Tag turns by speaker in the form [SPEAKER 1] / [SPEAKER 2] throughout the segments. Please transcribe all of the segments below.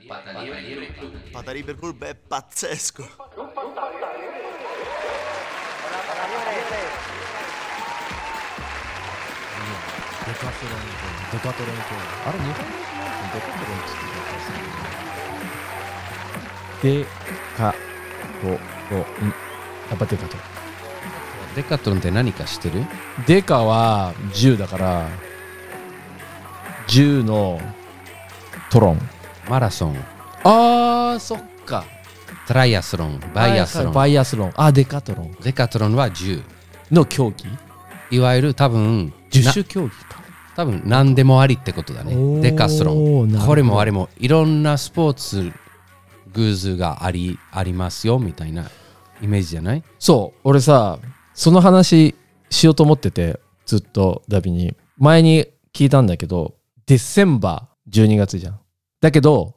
[SPEAKER 1] Pata Libre Club è pazzesco.
[SPEAKER 2] デカトロン。やっぱデカトロン。
[SPEAKER 3] デカトロンって何か知ってる？
[SPEAKER 2] デカは10だから10のトロン。
[SPEAKER 3] マラソン、
[SPEAKER 2] あーそっか。
[SPEAKER 3] トライアスロン、バイアスロン。
[SPEAKER 2] バイアスロン。あ、デカトロン
[SPEAKER 3] デカトロンは10。
[SPEAKER 2] の競技。
[SPEAKER 3] いわゆる多分
[SPEAKER 2] 10種競技か。
[SPEAKER 3] 多分何でもありってことだね。デカスロン。
[SPEAKER 2] おーなるほど
[SPEAKER 3] これもあれもいろんなスポーツグッズがありますよみたいなイメージじゃない？
[SPEAKER 2] そう俺さその話しようと思っててずっとダビに前に聞いたんだけどデセンバー12月じゃん。だけど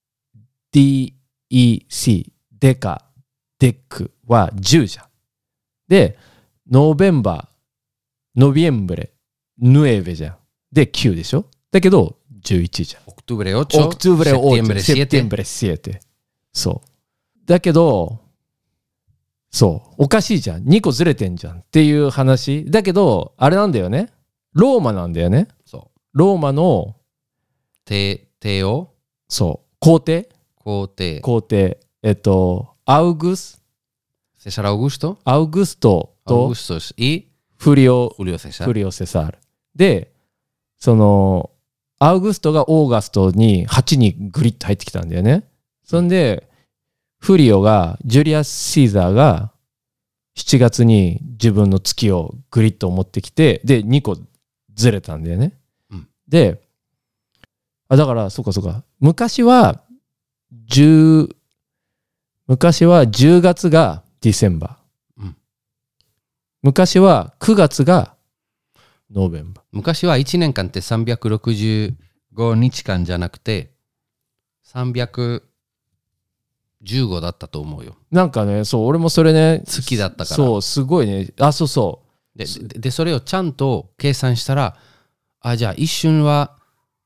[SPEAKER 2] DEC デカデックは10じゃん。でノベンバーノビエンブレヌエベじゃん。で9でしょ。だけど11じゃん。
[SPEAKER 3] オクトゥブレ8、
[SPEAKER 2] オクトゥブレ8、セプテン
[SPEAKER 3] 7。
[SPEAKER 2] ブレ7。そう。だけど、そう。おかしいじゃん。2個ずれてんじゃんっていう話。だけど、あれなんだよね。ローマなんだよね。
[SPEAKER 3] そう。
[SPEAKER 2] ローマの、
[SPEAKER 3] 帝王
[SPEAKER 2] そう。皇帝
[SPEAKER 3] 皇帝。
[SPEAKER 2] 皇帝。アウグス
[SPEAKER 3] セサル・アウグスト
[SPEAKER 2] アウグスト
[SPEAKER 3] アウ
[SPEAKER 2] と
[SPEAKER 3] グストスy
[SPEAKER 2] フリオ・
[SPEAKER 3] フリオ・セサ
[SPEAKER 2] フリオ・セサール。で、その、アウグストがオーガストに8にグリッと入ってきたんだよね。そんで、フリオが、ジュリアス・シーザーが7月に自分の月をグリッと持ってきて、で、2個ずれたんだよね。
[SPEAKER 3] うん、
[SPEAKER 2] で、だから、そうか。昔は10月がディセンバー。
[SPEAKER 3] うん、
[SPEAKER 2] 昔は9月がノーベンバー。
[SPEAKER 3] 昔は1年間って365日間じゃなくて315だったと思うよ。
[SPEAKER 2] なんかね、そう、俺もそれね、
[SPEAKER 3] 好きだったから。
[SPEAKER 2] そう、すごいね。あ、そうそう。
[SPEAKER 3] で、それをちゃんと計算したら、じゃあ一周は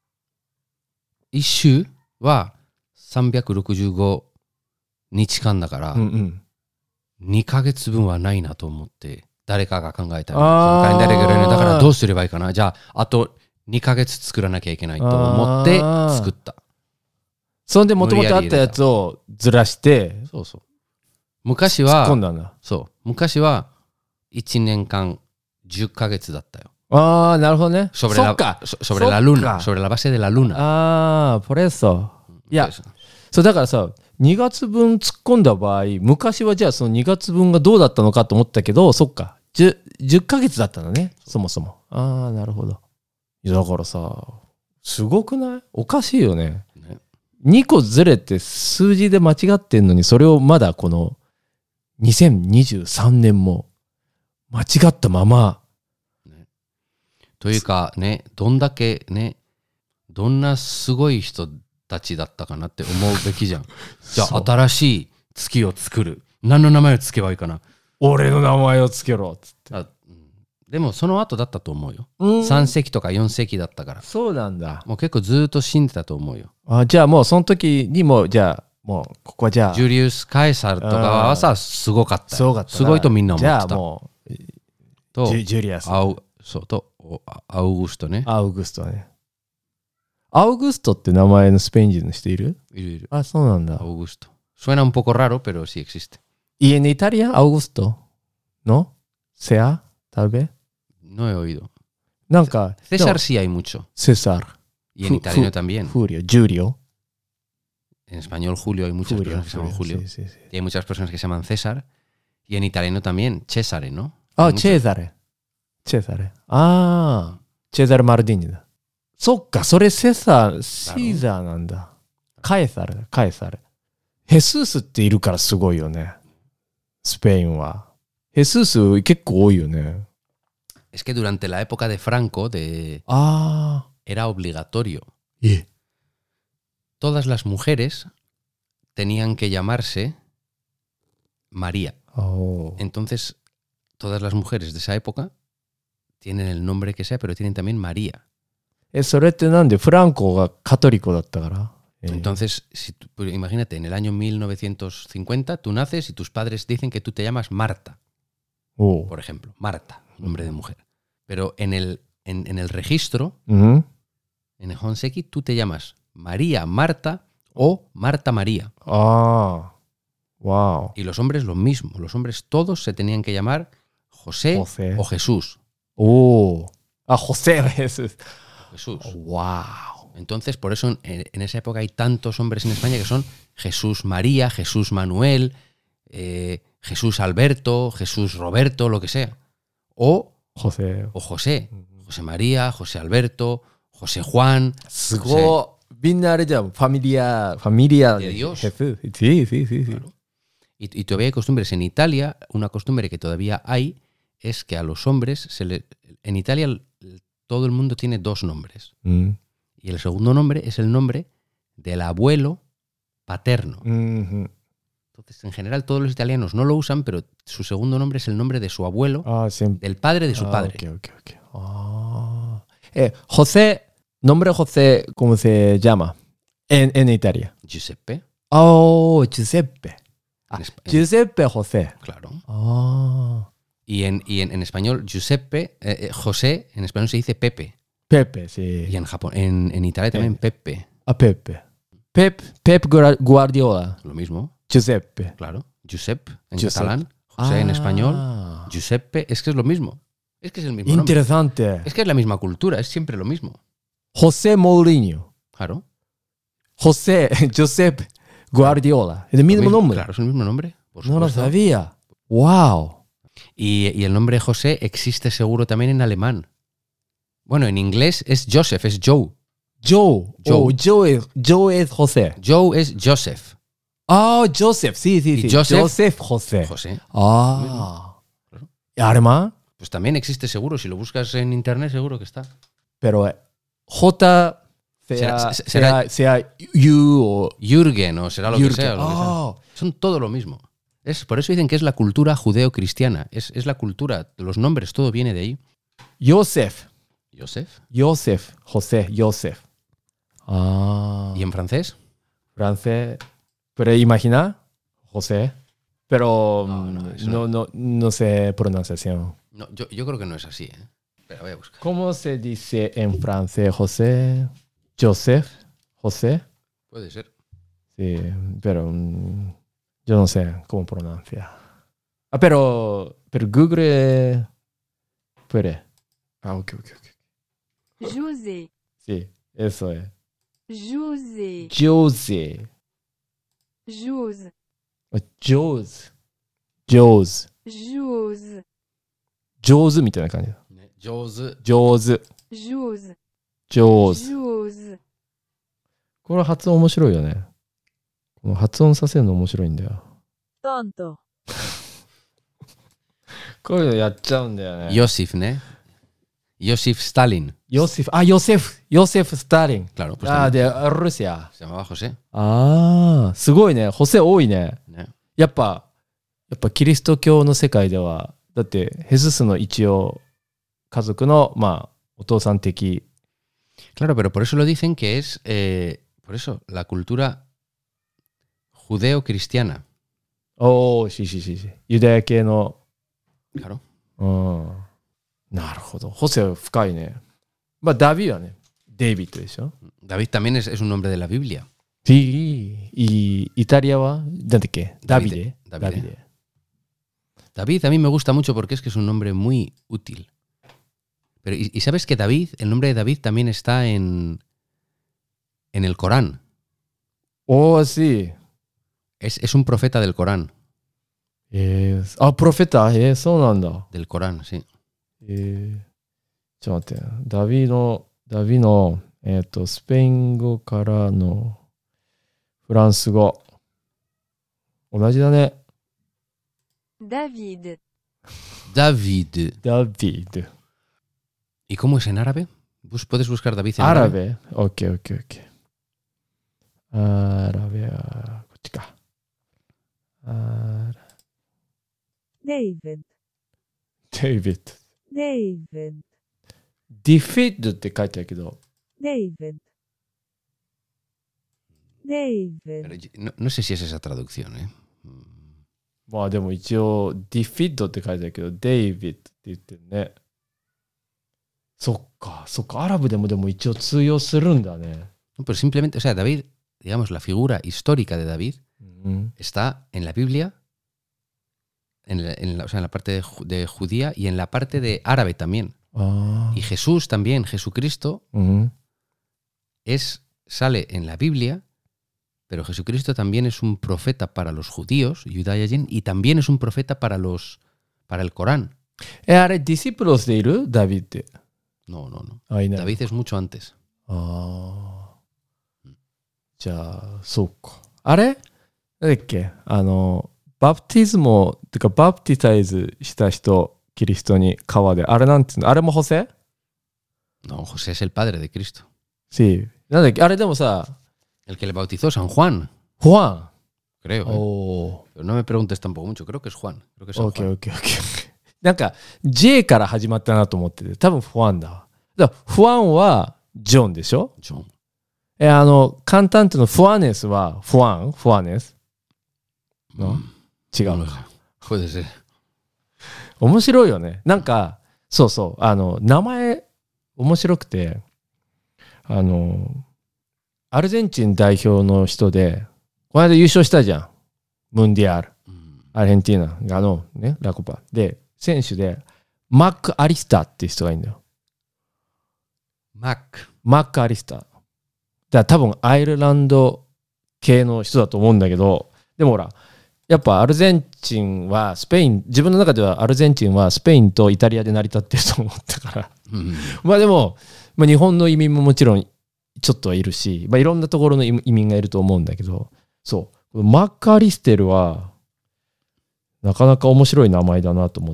[SPEAKER 3] 365日間だから、2ヶ月分はないなと思って、誰かが考えたら、そのカレンダーレギュラーだからどうすればいいかな。じゃあ、あと2ヶ月作らなきゃいけないと思って作った。
[SPEAKER 2] そんでもともとあったやつをずらして、
[SPEAKER 3] そうそう。昔は、
[SPEAKER 2] 突っ込んだんだ。
[SPEAKER 3] そう。昔は1年間10ヶ月だったよ。
[SPEAKER 2] ああ、なるほどね。
[SPEAKER 3] そっ
[SPEAKER 2] か。
[SPEAKER 3] sobre la luna. Sobre la base de la luna.
[SPEAKER 2] ああ、por eso。いや、そうだからさ、2月分突っ込んだ場合、昔はじゃあその2月分がどうだったのかと思ったけど、そっか。10ヶ月だったのね、そもそも。ああ、なるほど。いや、だからさ、すごくない？おかしいよね。2個ずれて数字で間違ってんのに、それをまだこの2023年も間違ったまま。
[SPEAKER 3] というかね、どんだけね、どんなすごい人たちだったかなって思うべきじゃん。じゃあ新しい月を作る。何の名前をつけばいいかな。
[SPEAKER 2] 俺の名前をつけろっつって。
[SPEAKER 3] でもその後だったと思うよ。3世紀とか4世紀だったから。
[SPEAKER 2] そうなんだ。
[SPEAKER 3] もう結構ずっと死んでたと思うよ。
[SPEAKER 2] じゃあもうその時にもじゃあもうここはじゃあ
[SPEAKER 3] ジュリウス・カエサルとかはさすごかった。
[SPEAKER 2] すごかった。
[SPEAKER 3] すごいとみんな思ってた。
[SPEAKER 2] じゃあもう
[SPEAKER 3] と
[SPEAKER 2] ジュリアス。
[SPEAKER 3] そうとアウグストね。
[SPEAKER 2] アウグストね。アウグストって名前のスペイン人の人いる？
[SPEAKER 3] いる。
[SPEAKER 2] あ、そうなんだ。
[SPEAKER 3] アウグスト。Suena un poco raro, pero sí existe.
[SPEAKER 2] ¿Y en Italia, Augusto? ¿No? ¿Sea? Tal vez.
[SPEAKER 3] No he oído.
[SPEAKER 2] なんか
[SPEAKER 3] César sí hay mucho.
[SPEAKER 2] César.
[SPEAKER 3] Y en italiano también.
[SPEAKER 2] Julio.
[SPEAKER 3] En español Julio hay muchas personas que se llaman Julio.
[SPEAKER 2] Sí.
[SPEAKER 3] Y hay muchas personas que se llaman César. Y en italiano también Cesare, ¿no?
[SPEAKER 2] Cesare. Cesare Mardini だ。そっか、それシーザーなんだ。カエサル。ヘスースっているからすごいよね。スペインは。ヘスース結構多いよね。
[SPEAKER 3] Es que durante la época de Franco era obligatorio. Todas las mujeres tenían que llamarse María. Entonces, todas las mujeres de esa época tienen el nombre que sea, pero tienen también María.
[SPEAKER 2] それってなんでフランコがカトリコだったから
[SPEAKER 3] Entonces, pues imagínate, en el año 1950 tú naces y tus padres dicen que tú te llamas Marta, por ejemplo. Marta, nombre de mujer. Pero en el registro, en el Honseki, tú te llamas María Marta o Marta María.
[SPEAKER 2] Ah, wow.
[SPEAKER 3] Y los hombres lo mismo. Los hombres todos se tenían que llamar José. O Jesús.
[SPEAKER 2] José Jesús.
[SPEAKER 3] Jesús.
[SPEAKER 2] Wow.
[SPEAKER 3] Entonces, por eso en esa época hay tantos hombres en España que son Jesús María, Jesús Manuel, Jesús Alberto, Jesús Roberto, lo que sea. O
[SPEAKER 2] José.
[SPEAKER 3] José. José María, José Alberto, José Juan.
[SPEAKER 2] すごい。みんなあれじゃん。ファミリア
[SPEAKER 3] De Dios.
[SPEAKER 2] Jesús. Sí, sí, sí.
[SPEAKER 3] Claro. Y todavía hay costumbres. En Italia, una costumbre que todavía hay es que a los hombres, en Italia todo el mundo tiene dos nombres. Y el segundo nombre es el nombre del abuelo paterno. Entonces, en general, todos los italianos no lo usan, pero su segundo nombre es el nombre de su abuelo, del padre de su padre.
[SPEAKER 2] Okay. José, nombre José, ¿cómo se llama? En Italia.
[SPEAKER 3] Giuseppe.
[SPEAKER 2] Giuseppe. Giuseppe José.
[SPEAKER 3] Claro. Y en español, Giuseppe, José, en español se dice Pepe.
[SPEAKER 2] Pepe, sí.
[SPEAKER 3] Y en Japón, en Italia también Pepe.
[SPEAKER 2] Pepe. Pep Guardiola.
[SPEAKER 3] Lo mismo.
[SPEAKER 2] Giuseppe.
[SPEAKER 3] Claro. Giuseppe en catalán. José en español. Giuseppe. Es que es lo mismo. Es que es el mismo nombre.
[SPEAKER 2] Interesante.
[SPEAKER 3] Es que es la misma cultura. Es siempre lo mismo.
[SPEAKER 2] José Mourinho.
[SPEAKER 3] Claro.
[SPEAKER 2] Giuseppe Guardiola. ¿Es el mismo nombre?
[SPEAKER 3] Claro, es el mismo nombre.
[SPEAKER 2] No lo sabía. Wow.
[SPEAKER 3] Y el nombre José existe seguro también en alemán. Bueno, en inglés es Joseph, es Joe.
[SPEAKER 2] Joe es José.
[SPEAKER 3] Joe es Joseph.
[SPEAKER 2] Joseph, sí.
[SPEAKER 3] Y Joseph
[SPEAKER 2] José.
[SPEAKER 3] Claro.
[SPEAKER 2] ¿Y alemán?
[SPEAKER 3] Pues también existe seguro. Si lo buscas en internet, seguro que está.
[SPEAKER 2] Pero J sea U o
[SPEAKER 3] Jürgen o será lo que sea.
[SPEAKER 2] Oh.
[SPEAKER 3] Son todo lo mismo. Por eso dicen que es la cultura judeo-cristiana. Es la cultura, los nombres, todo viene de ahí.
[SPEAKER 2] Joseph. José, Joseph.
[SPEAKER 3] ¿Y en francés?
[SPEAKER 2] Francés. Pero imagina, José. Pero no sé pronunciación.
[SPEAKER 3] No, yo creo que no es así, ¿eh? Pero voy a buscar.
[SPEAKER 2] ¿Cómo se dice en francés José? Joseph, José.
[SPEAKER 3] Puede ser.
[SPEAKER 2] Sí, pero yo no sé cómo pronuncia. Pero Google puede. Ok.
[SPEAKER 4] José.
[SPEAKER 2] Sí, eso es.
[SPEAKER 4] José.
[SPEAKER 2] José.
[SPEAKER 4] Jose.
[SPEAKER 2] Jose. Jose みたいな感じだ。
[SPEAKER 3] Jose.
[SPEAKER 2] Jose。これ発音面白いよね。この発音させるの面白いんだよ。
[SPEAKER 4] トント。
[SPEAKER 2] こういうのやっちゃうんだよね。
[SPEAKER 3] Joseph, ¿no? Joseph Stalin.
[SPEAKER 2] Joseph Stalin.
[SPEAKER 3] Claro, pues
[SPEAKER 2] de Rusia.
[SPEAKER 3] Se llamaba José.
[SPEAKER 2] すごいね。ホセ多いね。
[SPEAKER 3] ね
[SPEAKER 2] やっぱキリスト教の世界では、だってヘススの一応家族のお父さん的。
[SPEAKER 3] Claro, pero por eso lo dicen que es, por eso, la cultura judeo-cristiana.
[SPEAKER 2] sí. ユダヤ系の。
[SPEAKER 3] Claro.
[SPEAKER 2] なるほど。ホセ深いね。ダビはね、デイビッドでしょ。
[SPEAKER 3] David también es un nombre de la Biblia.
[SPEAKER 2] Sí. Y Italia va, ¿dónde qué? Davide.
[SPEAKER 3] David a mí me gusta mucho porque es que es un nombre muy útil. Pero, ¿y sabes que David, el nombre de David también está en el Corán?
[SPEAKER 2] Sí.
[SPEAKER 3] Es un profeta del Corán.
[SPEAKER 2] Profeta, そうなんだ。
[SPEAKER 3] Del Corán, sí.
[SPEAKER 2] ちょっと待って。ダビの、スペイン語からのフランス語。同じだね。
[SPEAKER 4] David.
[SPEAKER 3] ¿Y cómo es en árabe? ¿Puedes buscar David en
[SPEAKER 2] árabe? Ok. アラベはこっちか。
[SPEAKER 4] David.
[SPEAKER 2] ディフィッドって書いてあるけど。
[SPEAKER 4] David. David.
[SPEAKER 3] No sé si es esa traducción, ¿eh?
[SPEAKER 2] まあでも一応、ディフィッドって書いてあるけど、デイビッドって言ってるね。そっか、そっか。アラブでも一応通用するんだね。
[SPEAKER 3] No, pero simplemente, o sea, David, digamos, la figura histórica de David está en la Biblia, o sea, en la parte de judía y en la parte de árabe también. Y Jesús también, Jesucristo, sale en la Biblia, pero Jesucristo también es un profeta para los judíos, Yudayajin, y también es un profeta para el Corán.
[SPEAKER 2] あれ、ディシプロスでいるダビって。
[SPEAKER 3] No.
[SPEAKER 2] あ、いない。
[SPEAKER 3] David es mucho antes.
[SPEAKER 2] じゃあ、そうか。あれなんだっけバプティズモってか、バプティタイズした人、キリストに川で。あれなんていうのあれもホセ
[SPEAKER 3] No, José es el padre de Cristo.
[SPEAKER 2] Sí. なんだっけあれでもさ、
[SPEAKER 3] El que le bautizó, San Juan,
[SPEAKER 2] ファン。
[SPEAKER 3] creo. ¿eh?
[SPEAKER 2] おー。
[SPEAKER 3] Pero no me preguntes tampoco mucho, creo que es Juan. Creo que es San
[SPEAKER 2] オッケー
[SPEAKER 3] Juan.
[SPEAKER 2] オッケーオッケー。なんか、J から始まったなと思ってて、多分ファンだわ。だからファンはジョンでしょ
[SPEAKER 3] John.
[SPEAKER 2] カンタントのファネスはファネスの違う
[SPEAKER 3] No
[SPEAKER 2] の
[SPEAKER 3] lo
[SPEAKER 2] か。
[SPEAKER 3] sé. Puede ser.
[SPEAKER 2] 面白いよね。なんか、そうそう、名前、面白くて、アルゼンチン代表の人で、この間優勝したじゃん。ムンディアル。アルヘンティーナがね、ラコパ。で、選手で、マック・アリスターっていう人がいるんだよ。マック・アリスター。だから多分アイルランド系の人だと思うんだけど、でもほら、やっぱアルゼンチンはスペイン、自分の中ではアルゼンチンはスペインとイタリアで成り立ってると思ったから。まあでも、日本の移民ももちろんちょっとはいるし、いろんなところの移民がいると思うんだけど、そう。マック・アリステルは、なかなか面白い名前だなと思って。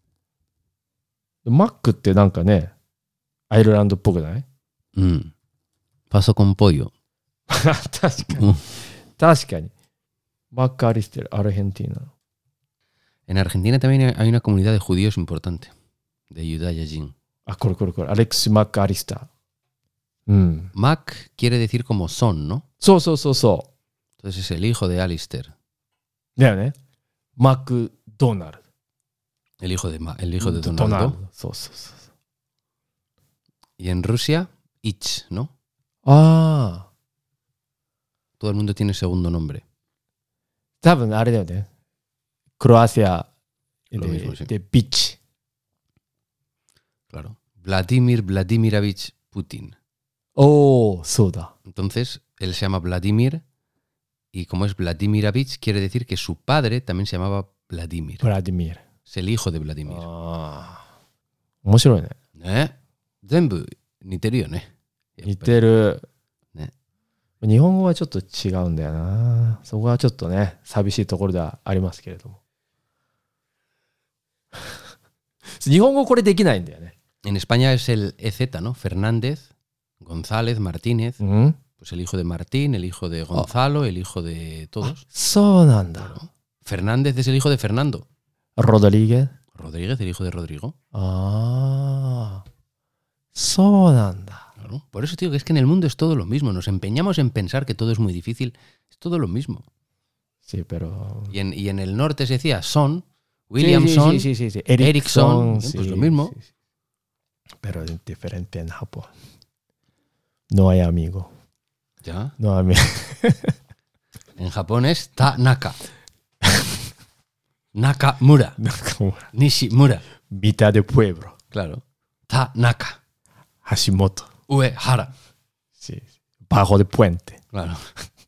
[SPEAKER 2] マックってなんかね、アイルランドっぽくない？
[SPEAKER 3] Paso con pollo.
[SPEAKER 2] 確かに。確かに。マック・アリステル、アルヘンティーナ。
[SPEAKER 3] En Argentina también hay una comunidad de judíos importante, de Yudayajin.
[SPEAKER 2] あ、これ。アレクシ・マック・アリスター。
[SPEAKER 3] Mac quiere decir como son, ¿no?
[SPEAKER 2] そう。
[SPEAKER 3] Entonces es el hijo de Alistair.
[SPEAKER 2] だよね。マック・ドナルド。
[SPEAKER 3] El hijo de Donaldo.
[SPEAKER 2] そう。
[SPEAKER 3] Y en Rusia, Ich, ¿no?
[SPEAKER 2] ああ。
[SPEAKER 3] Todo el mundo tiene segundo nombre.
[SPEAKER 2] 多分あれだよね。クロアチア
[SPEAKER 3] Lo mismo, sí.
[SPEAKER 2] でビッチ。
[SPEAKER 3] Claro. Vladimir Vladimirovich Putin.
[SPEAKER 2] おお、そうだ。
[SPEAKER 3] Entonces, él se llama Vladimir y como es Vladimirovich, quiere decir que su padre también se llamaba Vladimir.
[SPEAKER 2] ブラディミール。
[SPEAKER 3] Es el hijo de Vladimir.
[SPEAKER 2] ああ。面白いね。
[SPEAKER 3] ね。全部似てるよね。
[SPEAKER 2] 似てる。
[SPEAKER 3] ね。
[SPEAKER 2] 日本語はちょっと違うんだよな。そこはちょっとね、寂しいところではありますけれども。日本語これできないんだよね。
[SPEAKER 3] En España es el EZ, ¿no? Fernández, González, Martínez. Pues el hijo de Martín, el hijo de Gonzalo, el hijo de todos.
[SPEAKER 2] そうなんだ。
[SPEAKER 3] Fernández es el hijo de Fernando.
[SPEAKER 2] ロドリゲ。
[SPEAKER 3] Rodríguez, el hijo de Rodrigo.
[SPEAKER 2] ああ。そうなんだ。
[SPEAKER 3] Claro. Por eso te digo que es que en el mundo es todo lo mismo. Nos empeñamos en pensar que todo es muy difícil. Es todo lo mismo.
[SPEAKER 2] Sí, pero...
[SPEAKER 3] Y en el norte se decía Son, Williamson,
[SPEAKER 2] sí.
[SPEAKER 3] Ericsson, pues lo mismo.
[SPEAKER 2] Sí. Pero es diferente en Japón. No hay amigo.
[SPEAKER 3] ¿Ya?
[SPEAKER 2] No amigo.
[SPEAKER 3] En Japón es Tanaka. Nakamura. Nishimura.
[SPEAKER 2] Mitad de pueblo.
[SPEAKER 3] Claro. Tanaka.
[SPEAKER 2] Hashimoto.
[SPEAKER 3] Uehara.
[SPEAKER 2] Sí. Bajo de puente.
[SPEAKER 3] Claro.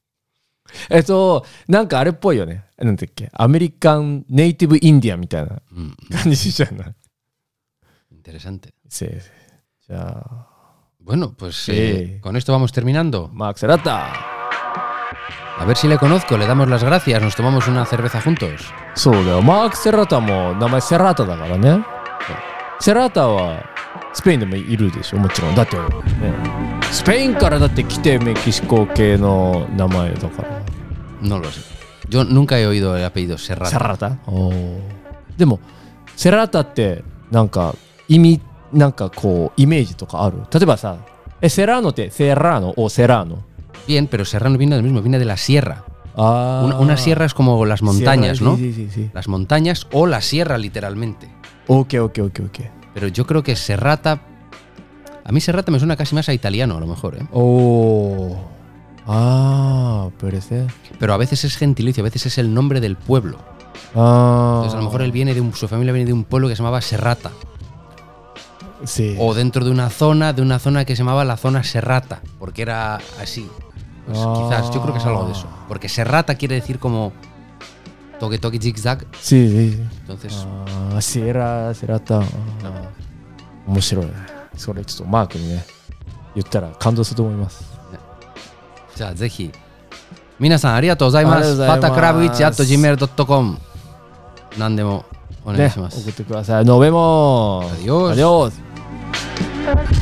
[SPEAKER 2] なんかあれっぽいよね。なんだっけ。アメリカンネイティブインディアンみたいな感じじゃない。
[SPEAKER 3] Interesante.
[SPEAKER 2] Sí. Ya.
[SPEAKER 3] Bueno, pues
[SPEAKER 2] sí.
[SPEAKER 3] Con esto vamos terminando.
[SPEAKER 2] Max Serrata.
[SPEAKER 3] A ver si le conozco, le damos las gracias, nos tomamos una cerveza juntos.
[SPEAKER 2] そうだよ。マーク・セラタも名前セラタだからね。セラタはスペインでもいるでしょ、もちろん。だって、ね、スペインからだって来てメキシコ系の名前だから。
[SPEAKER 3] No lo sé. Yo nunca he oído el apellido Serrata.
[SPEAKER 2] セラタ？おー。でも、セラタってなんか意味、なんかこうイメージとかある？例えばさ、セラーノってセラーノをセラーノ
[SPEAKER 3] Bien, pero serrano viene del mismo, viene de la sierra.
[SPEAKER 2] Ah.
[SPEAKER 3] Una sierra es como las montañas,
[SPEAKER 2] Sierra,
[SPEAKER 3] ¿no?
[SPEAKER 2] Sí.
[SPEAKER 3] Las montañas o la sierra, literalmente.
[SPEAKER 2] Ok.
[SPEAKER 3] Pero yo creo que serrata. A mí serrata me suena casi más a italiano, a lo mejor, ¿eh?
[SPEAKER 2] Oh. Ah, puede ser.
[SPEAKER 3] Pero a veces es gentilicio, a veces es el nombre del pueblo.
[SPEAKER 2] Ah.
[SPEAKER 3] Entonces, a lo mejor él viene su familia viene de un pueblo que se llamaba Serrata.
[SPEAKER 2] Sí.
[SPEAKER 3] O dentro de una zona que se llamaba la zona Serrata, porque era así. Pues quizás, yo creo que es algo de eso. Porque Serrata quiere decir como toque, zigzag.
[SPEAKER 2] Sí.
[SPEAKER 3] Entonces,
[SPEAKER 2] シエラタ面白いね。それちょっとマークにね言ったら感動すると思います。
[SPEAKER 3] じゃあぜひ皆さんありがとうございます。バタクラブ1@gmail.com 何でもお願いします。
[SPEAKER 2] 送ってください。Nos vemos.
[SPEAKER 3] Adiós.
[SPEAKER 2] Adiós.